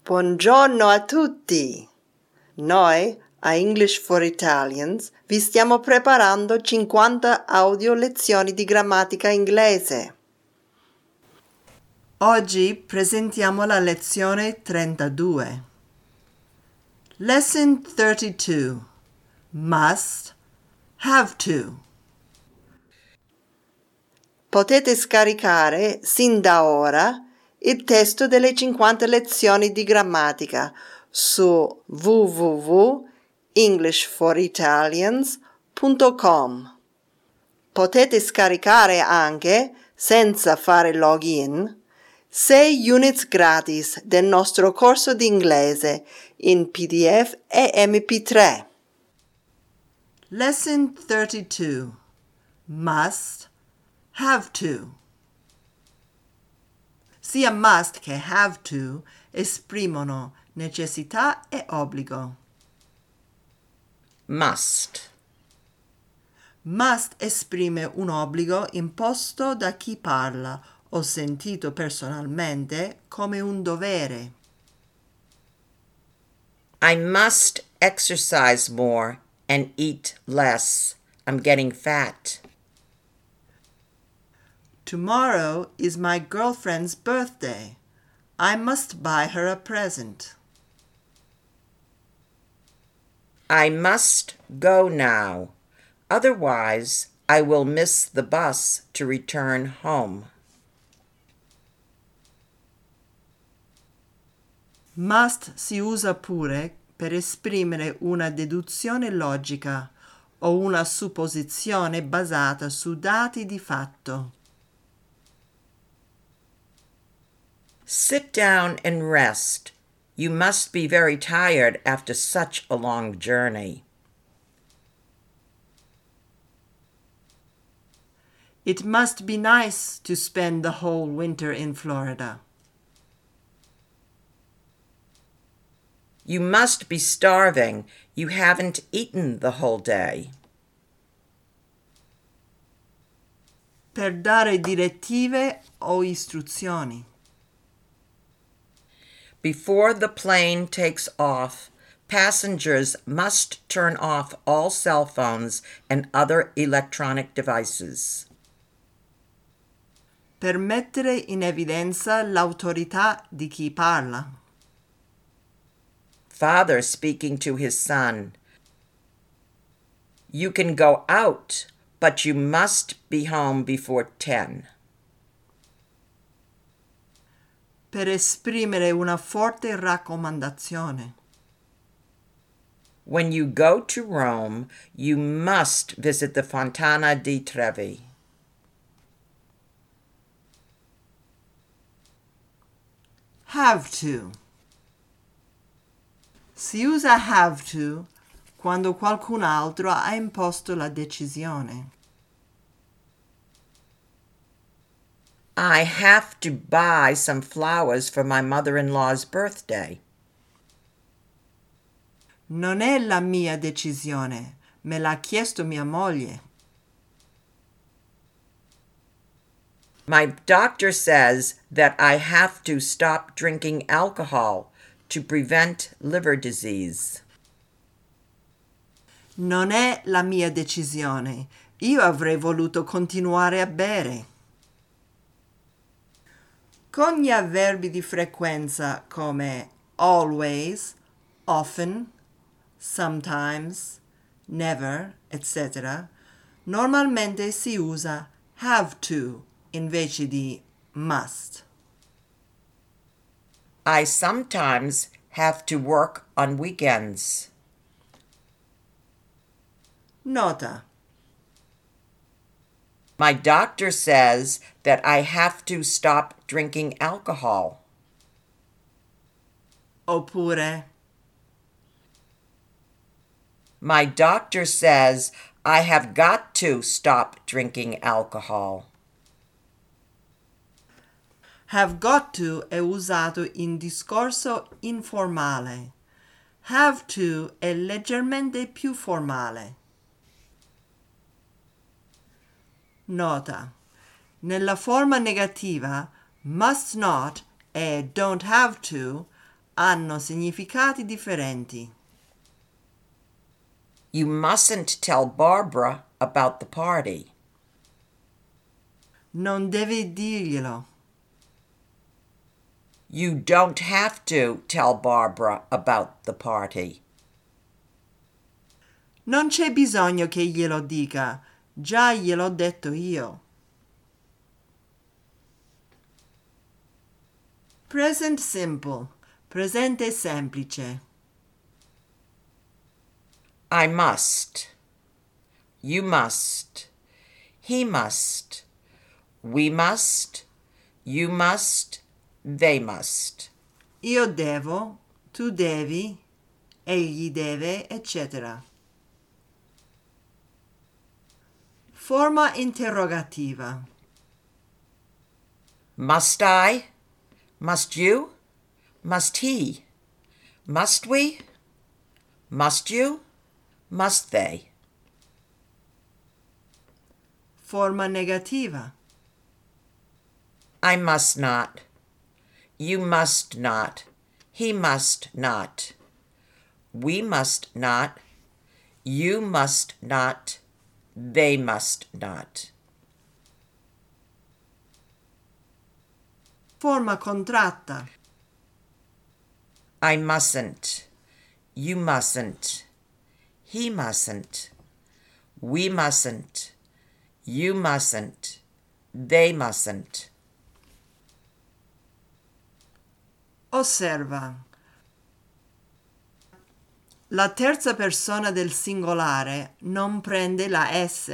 Buongiorno a tutti! Noi, a English for Italians, vi stiamo preparando 50 audio lezioni di grammatica inglese. Oggi presentiamo la lezione 32. Lesson 32. Must, have to. Potete scaricare sin da ora il testo delle 50 lezioni di grammatica su www.englishforitalians.com. Potete scaricare anche, senza fare login, 6 units gratis del nostro corso di inglese in PDF e MP3. Lesson 32. Must, have to. Sia must che have to esprimono necessità e obbligo. Must. Must esprime un obbligo imposto da chi parla o sentito personalmente come un dovere. I must exercise more and eat less. I'm getting fat. Tomorrow is my girlfriend's birthday. I must buy her a present. I must go now. Otherwise, I will miss the bus to return home. Must si usa pure per esprimere una deduzione logica o una supposizione basata su dati di fatto. Sit down and rest. You must be very tired after such a long journey. It must be nice to spend the whole winter in Florida. You must be starving. You haven't eaten the whole day. Per dare direttive o istruzioni. Before the plane takes off, passengers must turn off all cell phones and other electronic devices. Per mettere in evidenza l'autorità di chi parla. Father speaking to his son. You can go out, but you must be home before 10. Per esprimere una forte raccomandazione. When you go to Rome, you must visit the Fontana di Trevi. Have to. Si usa have to quando qualcun altro ha imposto la decisione. I have to buy some flowers for my mother-in-law's birthday. Non è la mia decisione, me l'ha chiesto mia moglie. My doctor says that I have to stop drinking alcohol to prevent liver disease. Non è la mia decisione. Io avrei voluto continuare a bere. Con gli avverbi di frequenza come always, often, sometimes, never, etc., normalmente si usa have to invece di must. I sometimes have to work on weekends. Nota. My doctor says that I have to stop drinking alcohol. Oppure My doctor says I have got to stop drinking alcohol. have got to è usato in discorso informale. Have to è leggermente più formale. Nota. Nella forma negativa, must not e don't have to hanno significati differenti. You mustn't tell Barbara about the party. Non devi dirglielo. You don't have to tell Barbara about the party. Non c'è bisogno che glielo dica, già gliel'ho detto io. Present simple, presente semplice. I must. You must. He must. We must. You must. They must. Io devo, tu devi, egli deve, eccetera. Forma interrogativa. Must I? Must you? Must he? Must we? Must you? Must they? Forma negativa. I must not. You must not. He must not. We must not. You must not. They must not. Forma contratta. I mustn't. You mustn't. He mustn't. We mustn't. You mustn't. They mustn't. Osserva. La terza persona del singolare non prende la S.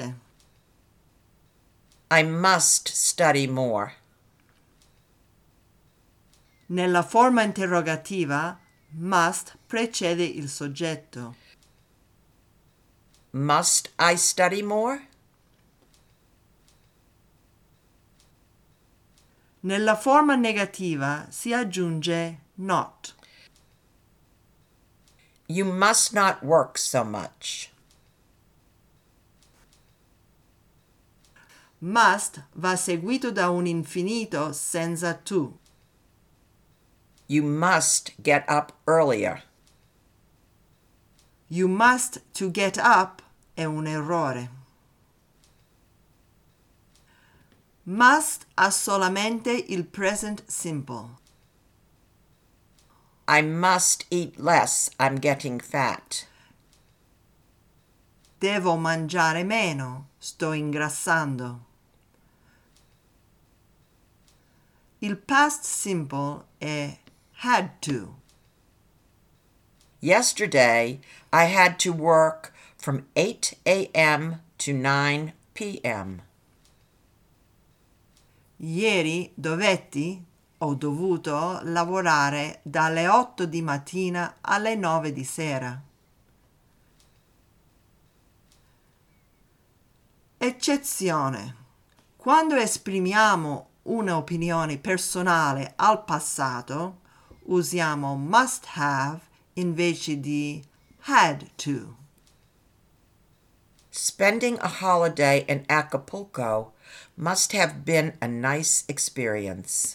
I must study more. Nella forma interrogativa, must precede il soggetto. Must I study more? Nella forma negativa si aggiunge not. You must not work so much. Must va seguito da un infinito senza to. You must get up earlier. You must to get up è un errore. Must ha solamente il present simple. I must eat less. I'm getting fat. Devo mangiare meno, sto ingrassando. Il past simple è had to. Yesterday, I had to work from 8 a.m. to 9 p.m. Ieri ho dovuto lavorare dalle 8 di mattina alle 9 di sera. Eccezione. Quando esprimiamo un'opinione personale al passato, usiamo must have invece di had to. Spending a holiday in Acapulco must have been a nice experience.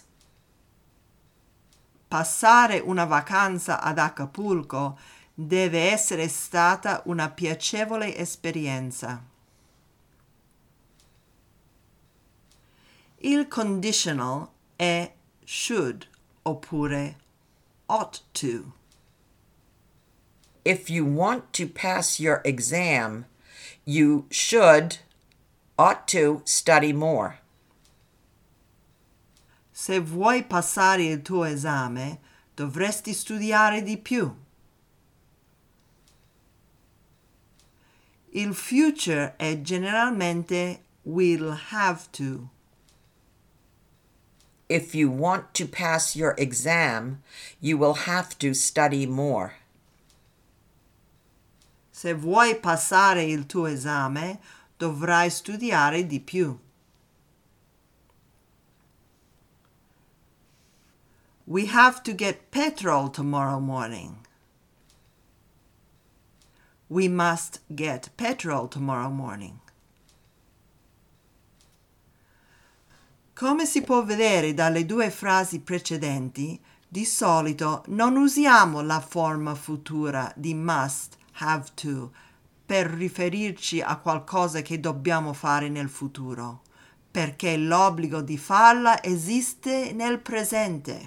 Passare una vacanza ad Acapulco deve essere stata una piacevole esperienza. Il conditional è should oppure ought to. If you want to pass your exam, you ought to study more. Se vuoi passare il tuo esame, dovresti studiare di più. Il future è generalmente will have to. If you want to pass your exam, you will have to study more. Se vuoi passare il tuo esame, dovrai studiare di più. We have to get petrol tomorrow morning. We must get petrol tomorrow morning. Come si può vedere dalle due frasi precedenti, Di solito non usiamo la forma futura di must, have to, per riferirci a qualcosa che dobbiamo fare nel futuro, perché l'obbligo di farla esiste nel presente.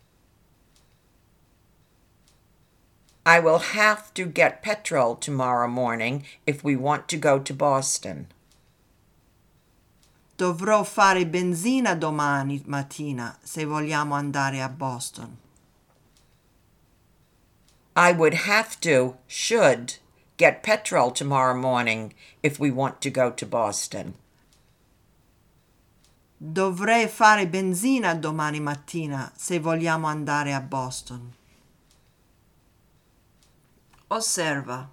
I will have to get petrol tomorrow morning if we want to go to Boston. Dovrò fare benzina domani mattina se vogliamo andare a Boston. I would have to, should, get petrol tomorrow morning if we want to go to Boston. Dovrei fare benzina domani mattina se vogliamo andare a Boston. Osserva.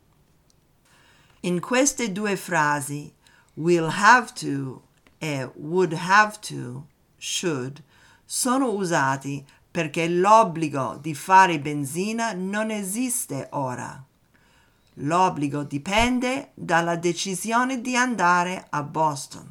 In queste due frasi, will have to e would have to, should, sono usati perché l'obbligo di fare benzina non esiste ora. L'obbligo dipende dalla decisione di andare a Boston.